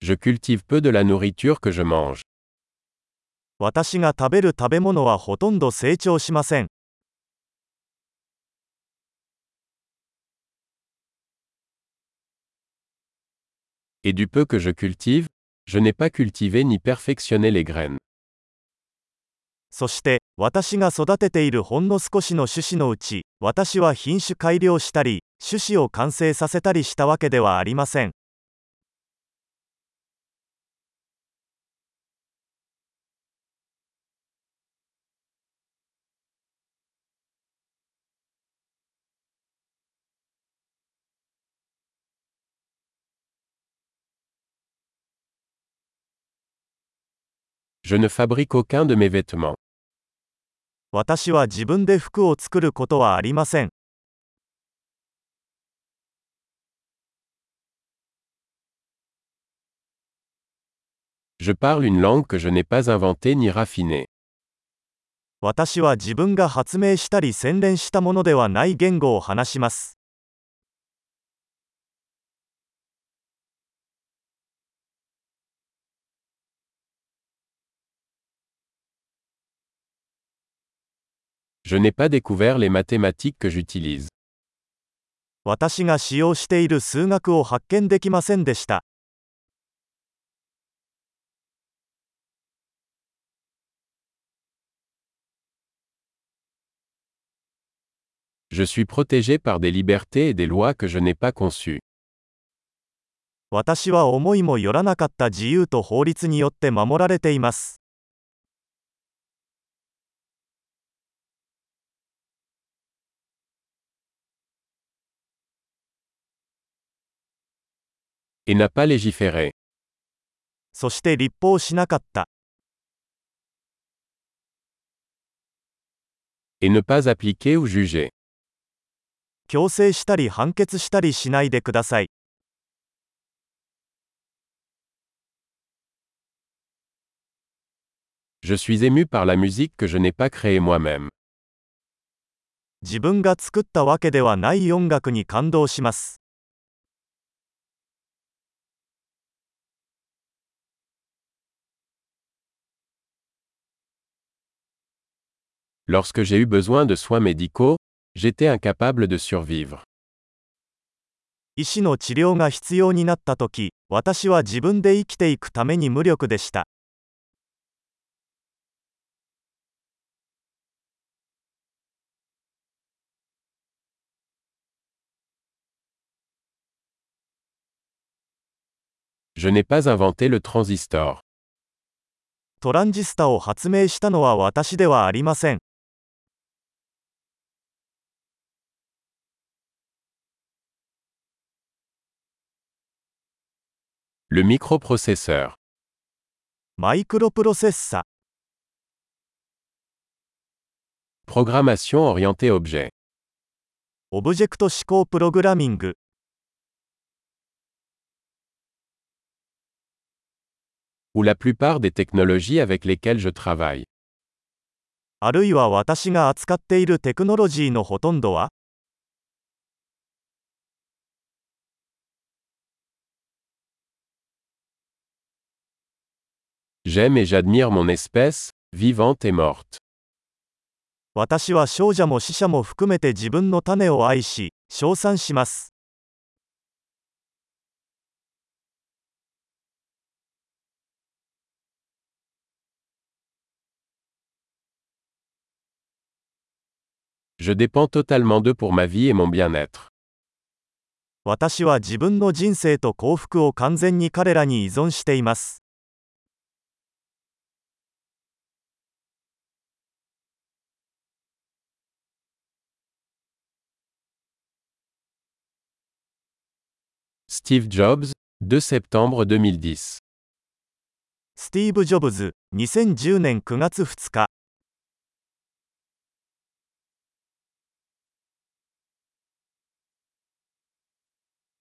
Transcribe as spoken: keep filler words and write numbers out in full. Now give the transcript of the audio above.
Je cultive peu de la nourriture que je mange. 私が食べる食べ物はほとんど成長しません。 Et du peu que je cultive, je n'ai pas cultivé ni perfectionné les graines. そして、私が育てているほんの少しの種子のうち、私は品種改良したり、種子を完成させたりしたわけではありません。 Je ne fabrique aucun de mes vêtements. 私は自分で服を作ることはありません。 Je parle une langue que je n'ai pas inventée ni raffinée. 私は自分が発明したり洗練したものではない言語を話します。 Je n'ai pas découvert les mathématiques que j'utilise. 私が使用している数学を発見できませんでした。 Je suis protégé par des libertés et des lois que je n'ai pas conçues. 私は思いもよらなかった自由と法律によって守られています。 Et n'a pas légiféré. そして立法しなかった。 Et ne pas appliquer ou juger. 強制したり判決したりしないでください。 Je suis ému par la musique que je n'ai pas créée moi-même. 自分が作ったわけではない音楽に感動します。 Lorsque j'ai eu besoin de soins médicaux, j'étais incapable de survivre. 医師の治療が必要になったとき、私は自分で生きていくために無力でした。 Je n'ai pas inventé le transistor. トランジスタを発明したのは私ではありません。 Le microprocesseur. マイクロプロセッサ。 Programmation orientée objet. オブジェクト指向プログラミング。 Ou la plupart des technologies avec lesquelles je travaille. あるいは私が扱っているテクノロジーのほとんどは、 J'aime et j'admire mon espèce, vivante et morte. 私は少者も死者も含めて自分の種を愛し、称賛します。 Je dépends totalement d'eux pour ma vie et mon bien-être. 私は自分の人生と幸福を完全に彼らに依存しています。 Steve Jobs, deux septembre deux mille dix. スティーブ・ジョブズ、にせんじゅうねんくがつふつか。